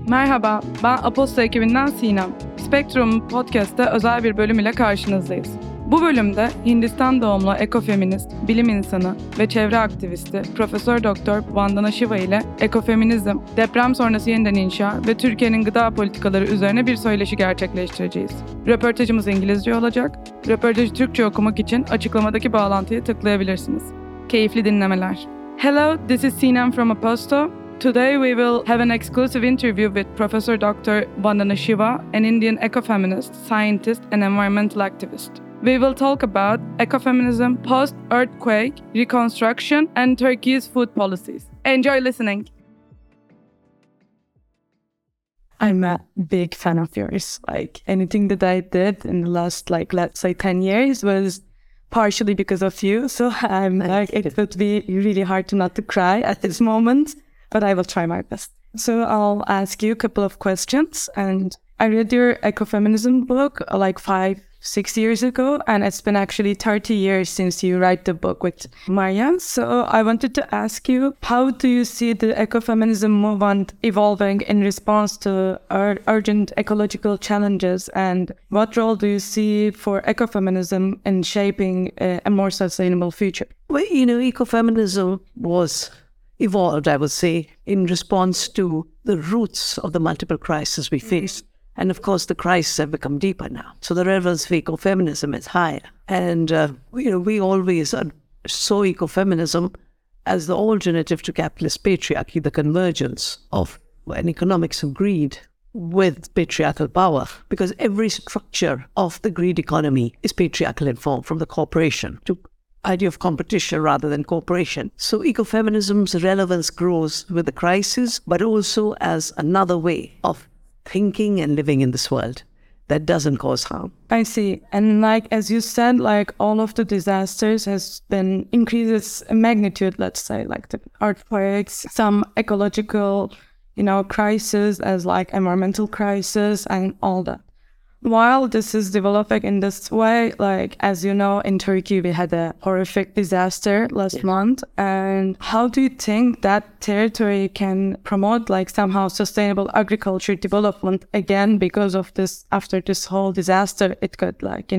Merhaba, ben Aposto ekibinden Sinem. Spectrum Podcast'te özel bir bölüm ile karşınızdayız. Bu bölümde Hindistan doğumlu ekofeminist, bilim insanı ve çevre aktivisti Profesör Doktor Vandana Shiva ile ekofeminizm, deprem sonrası yeniden inşa ve Türkiye'nin gıda politikaları üzerine bir söyleşi gerçekleştireceğiz. Röportajımız İngilizce olacak. Röportajı Türkçe okumak için açıklamadaki bağlantıyı tıklayabilirsiniz. Keyifli dinlemeler. Hello, this is Sinem from Aposto. Today we will have an exclusive interview with Professor Dr. Vandana Shiva, an Indian ecofeminist, scientist and environmental activist. We will talk about ecofeminism, post-earthquake, reconstruction, and Turkey's food policies. Enjoy listening. I'm a big fan of yours. Like anything that I did in the last, let's say 10 years was partially because of you. So it would be really hard to not to cry at this moment. But I will try my best. So I'll ask you a couple of questions. And I read your ecofeminism book 5-6 years ago. And it's been actually 30 years since you write the book with Marianne. So I wanted to ask you, how do you see the ecofeminism movement evolving in response to urgent ecological challenges? And what role do you see for ecofeminism in shaping a more sustainable future? Well, ecofeminism was evolved, I would say, in response to the roots of the multiple crises we face. And of course, the crises have become deeper now. So the relevance for ecofeminism is higher. And, we always saw ecofeminism as the alternative to capitalist patriarchy, the convergence of an economics of greed with patriarchal power, because every structure of the greed economy is patriarchal in form, from the corporation to idea of competition rather than cooperation. So ecofeminism's relevance grows with the crisis, but also as another way of thinking and living in this world that doesn't cause harm. I see. And as you said, all of the disasters has been increases in magnitude, let's say, like the earthquakes, some ecological, crisis as environmental crisis and all that. While this is developing in this way, as you know, in Turkey, we had a horrific disaster last month. And how do you think that territory can promote somehow sustainable agriculture development again because of this, after this whole disaster, it got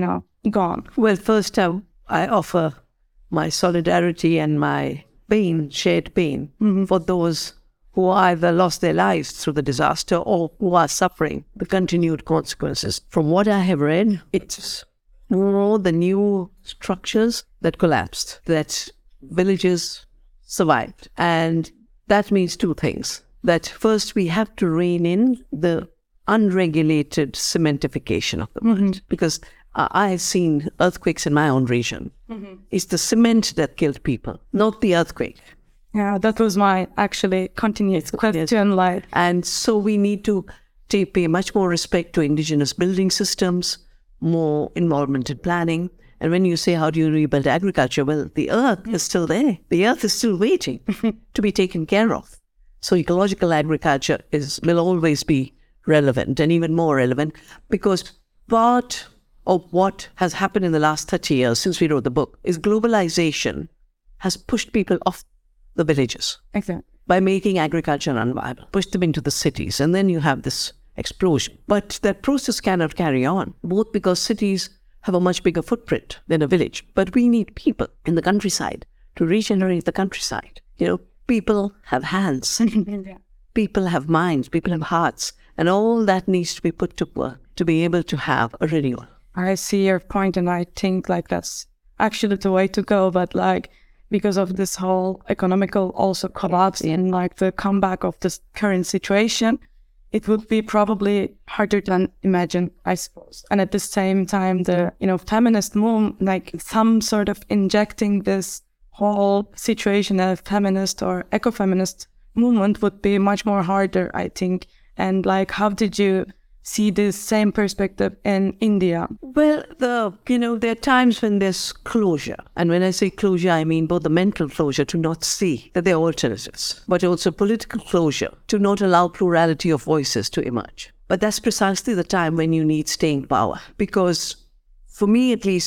gone? Well, first I offer my solidarity and my shared pain for those who either lost their lives through the disaster or who are suffering the continued consequences. From what I have read, it's more the new structures that collapsed, that villages survived. And that means two things. That first, we have to rein in the unregulated cementification of the world. Because I have seen earthquakes in my own region. It's the cement that killed people, not the earthquake. Yeah, that was my actually continuous question. And so we need to pay much more respect to indigenous building systems, more involvement in planning. And when you say, how do you rebuild agriculture? Well, the earth is still there. The earth is still waiting to be taken care of. So ecological agriculture will always be relevant and even more relevant, because part of what has happened in the last 30 years since we wrote the book is globalization has pushed people off the villages. Exactly. By making agriculture unviable, push them into the cities, and then you have this explosion. But that process cannot carry on, both because cities have a much bigger footprint than a village. But we need people in the countryside to regenerate the countryside. People have hands, people have minds, people have hearts, and all that needs to be put to work to be able to have a renewal. I see your point, and I think that's actually the way to go. But because of this whole economical also collapse and the comeback of this current situation, it would be probably harder than imagined, I suppose. And at the same time, the feminist movement, some sort of injecting this whole situation of feminist or ecofeminist movement would be much more harder, I think. And how did you see this same perspective in India? Well, there are times when there's closure. And when I say closure, I mean both the mental closure to not see that there are alternatives, but also political closure to not allow plurality of voices to emerge. But that's precisely the time when you need staying power. Because for me, at least,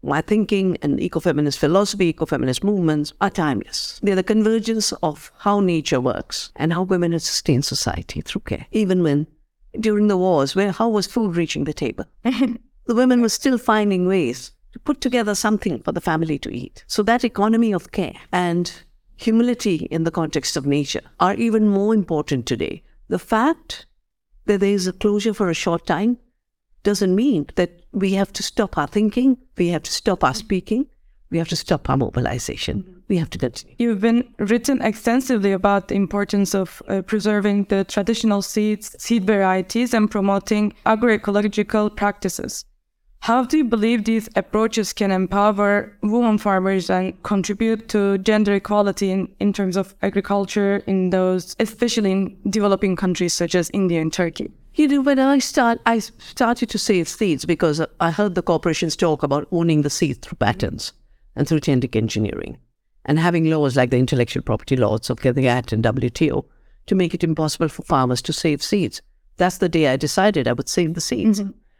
my thinking and ecofeminist philosophy, ecofeminist movements are timeless. They're the convergence of how nature works and how women have sustained society through care. Even when, during the wars, how was food reaching the table? The women were still finding ways to put together something for the family to eat. So that economy of care and humility in the context of nature are even more important today. The fact that there is a closure for a short time doesn't mean that we have to stop our thinking, we have to stop our speaking, we have to stop our mobilization. We have to continue. You've been written extensively about the importance of preserving the traditional seeds, seed varieties, and promoting agroecological practices. How do you believe these approaches can empower women farmers and contribute to gender equality in terms of agriculture in those, especially in developing countries such as India and Turkey? You know, when I started to save seeds because I heard the corporations talk about owning the seed through patents and through genetic engineering and having laws like the intellectual property laws of the GATT and WTO to make it impossible for farmers to save seeds. That's the day I decided I would save the seeds.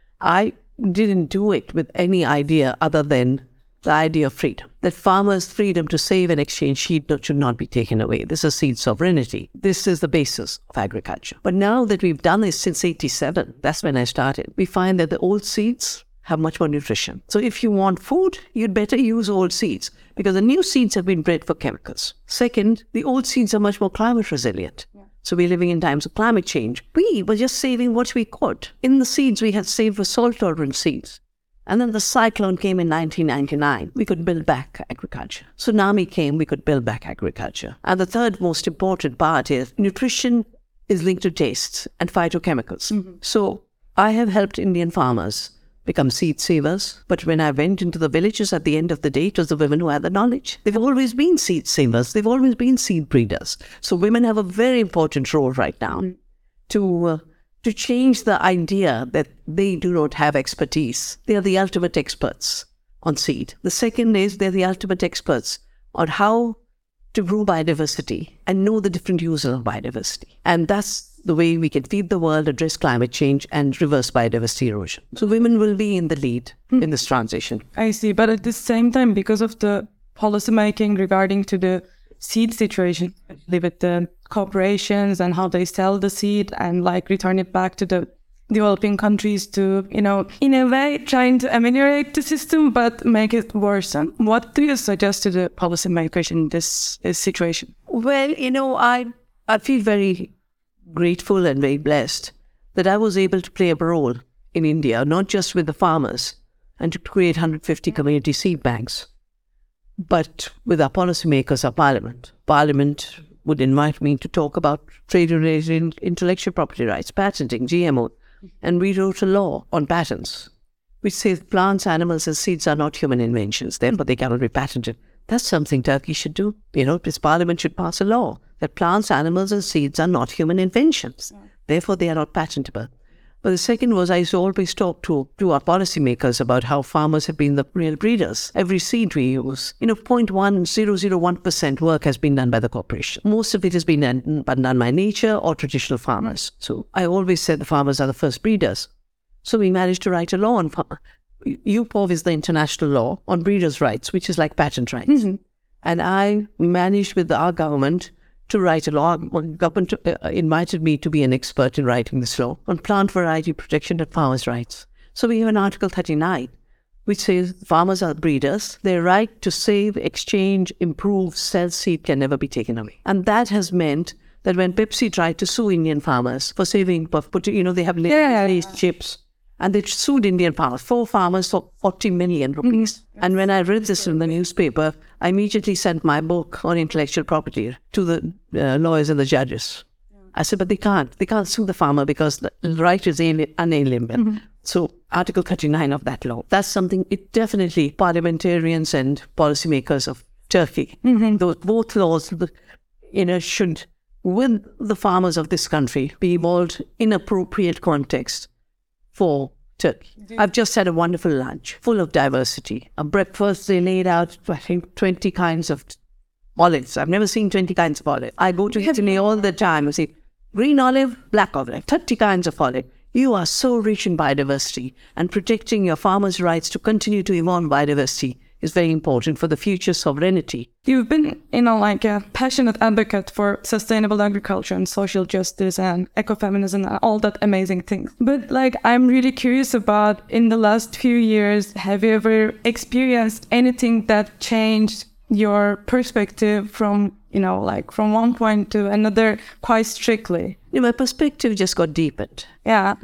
I didn't do it with any idea other than the idea of freedom, that farmers' freedom to save and exchange seed should not be taken away. This is seed sovereignty. This is the basis of agriculture. But now that we've done this since 87, that's when I started, we find that the old seeds have much more nutrition. So if you want food, you'd better use old seeds because the new seeds have been bred for chemicals. Second, the old seeds are much more climate resilient. So we're living in times of climate change. We were just saving what we could. In the seeds, we had saved for salt-tolerant seeds. And then the cyclone came in 1999. We could build back agriculture. Tsunami came, we could build back agriculture. And the third most important part is nutrition is linked to tastes and phytochemicals. So I have helped Indian farmers become seed savers. But when I went into the villages at the end of the day, it was the women who had the knowledge. They've always been seed savers. They've always been seed breeders. So women have a very important role right now to change the idea that they do not have expertise. They are the ultimate experts on seed. The second is they're the ultimate experts on how to grow biodiversity and know the different uses of biodiversity. And that's the way we can feed the world, address climate change, and reverse biodiversity erosion. So women will be in the lead in this transition. I see. But at the same time, because of the policy making regarding to the seed situation, with the corporations and how they sell the seed and like return it back to the developing countries to, in a way trying to ameliorate the system but make it worsen. What do you suggest to the policymakers in this situation? Well, I feel very grateful and very blessed that I was able to play a role in India, not just with the farmers and to create 150 community seed banks, but with our policymakers, our parliament. Parliament would invite me to talk about trade-related intellectual property rights, patenting, GMO, and we wrote a law on patents, which says plants, animals, and seeds are not human inventions, therefore they cannot be patented. That's something Turkey should do. This parliament should pass a law that plants, animals, and seeds are not human inventions. Therefore, they are not patentable. But the second was I used to always talk to our policymakers about how farmers have been the real breeders. Every seed we use, 0.1001% work has been done by the corporation. Most of it has been done by nature or traditional farmers. So I always said the farmers are the first breeders. So we managed to write a law on UPOV is the international law on breeders' rights, which is like patent rights. And I managed with our government to write a law. Government invited me to be an expert in writing this law on plant variety protection and farmers' rights. So we have an Article 39, which says farmers are breeders. Their right to save, exchange, improve, sell seed can never be taken away. And that has meant that when Pepsi tried to sue Indian farmers for saving, they have laced chips, and they sued Indian farmers, 4 farmers for 40 million rupees. And when I read this in the newspaper, I immediately sent my book on intellectual property to the lawyers and the judges. I said, but they can't sue the farmer because the right is unalienable. So Article 39 of that law, that's something it definitely parliamentarians and policymakers of Turkey, those both laws, should, with the farmers of this country, be evolved in appropriate context for Turkey. I've just had a wonderful lunch full of diversity. A breakfast, they laid out, I think, 20 kinds of olives. I've never seen 20 kinds of olive. I go to Italy all the time. I see green olive, black olive, 30 kinds of olive. You are so rich in biodiversity, and protecting your farmers' rights to continue to evolve biodiversity is very important for the future sovereignty. You've been, like a passionate advocate for sustainable agriculture and social justice and ecofeminism and all that amazing things. But I'm really curious about, in the last few years, have you ever experienced anything that changed your perspective from, from one point to another quite strictly? My perspective just got deepened. Yeah.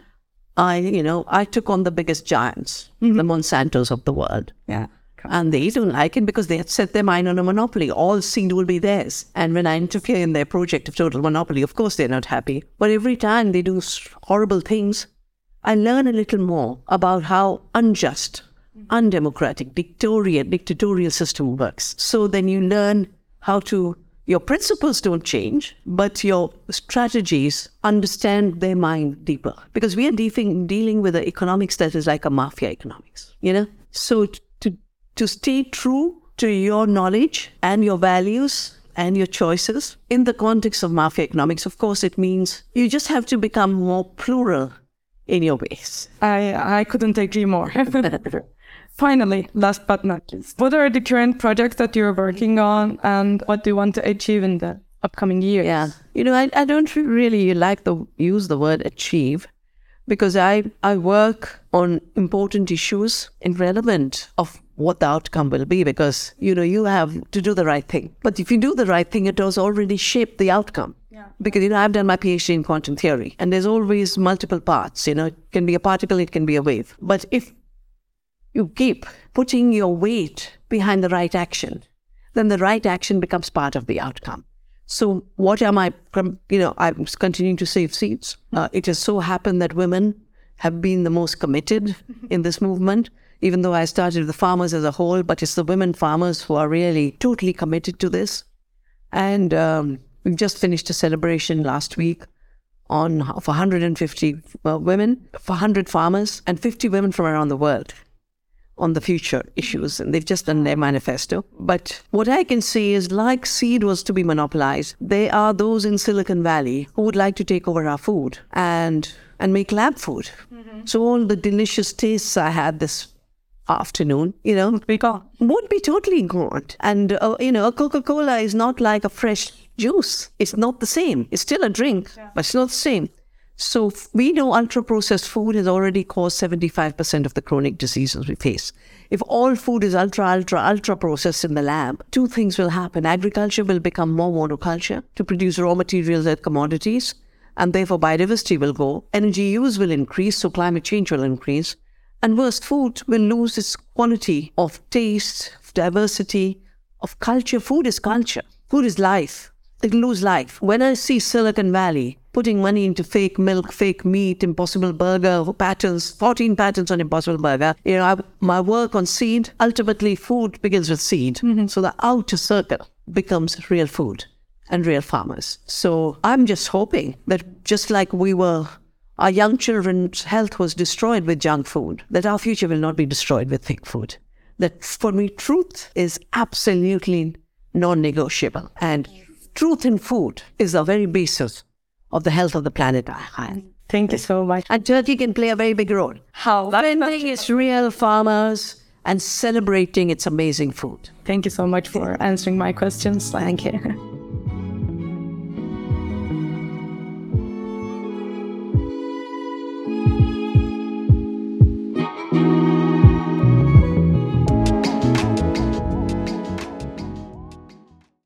I took on the biggest giants, the Monsantos of the world. Yeah. And they don't like it because they had set their mind on a monopoly. All seed will be theirs. And when I interfere in their project of total monopoly, of course they're not happy. But every time they do horrible things, I learn a little more about how unjust, undemocratic, dictatorial system works. So then you learn how to, your principles don't change, but your strategies understand their mind deeper. Because we are dealing with an economics that is like a mafia economics, So to stay true to your knowledge and your values and your choices in the context of mafia economics, of course, it means you just have to become more plural in your ways. I couldn't agree more. Finally, last but not least, what are the current projects that you're working on and what do you want to achieve in the upcoming years? Yeah, I don't really like to use the word achieve, because I work on important issues irrelevant of what the outcome will be, because, you have to do the right thing. But if you do the right thing, it does already shape the outcome. Yeah. Because, I've done my PhD in quantum theory, and there's always multiple parts. It can be a particle, it can be a wave. But if you keep putting your weight behind the right action, then the right action becomes part of the outcome. So what am I, I'm continuing to save seeds. It has so happened that women have been the most committed in this movement, even though I started with the farmers as a whole, but it's the women farmers who are really totally committed to this. And we've just finished a celebration last week for 150 women, for 100 farmers, and 50 women from around the world on the future issues, and they've just done their manifesto. But what I can say is, like seed was to be monopolized, there are those in Silicon Valley who would like to take over our food and make lab food. So all the delicious tastes I had this afternoon, would be totally gone. And, a Coca-Cola is not like a fresh juice. It's not the same. It's still a drink, but it's not the same. So we know ultra-processed food has already caused 75% of the chronic diseases we face. If all food is ultra-processed in the lab, two things will happen. Agriculture will become more monoculture to produce raw materials and commodities, and therefore biodiversity will go. Energy use will increase, so climate change will increase. And worst, food will lose its quality of taste, of diversity, of culture. Food is culture. Food is life. It will lose life. When I see Silicon Valley putting money into fake milk, fake meat, Impossible Burger patents, 14 patents on Impossible Burger, my work on seed, ultimately food begins with seed. So the outer circle becomes real food and real farmers. So I'm just hoping that just like our young children's health was destroyed with junk food, that our future will not be destroyed with fake food. That for me, truth is absolutely non-negotiable. And truth in food is the very basis of the health of the planet. Thank you so much. And Turkey can play a very big role. How? Defending its real farmers and celebrating its amazing food. Thank you so much for answering my questions. Thank you.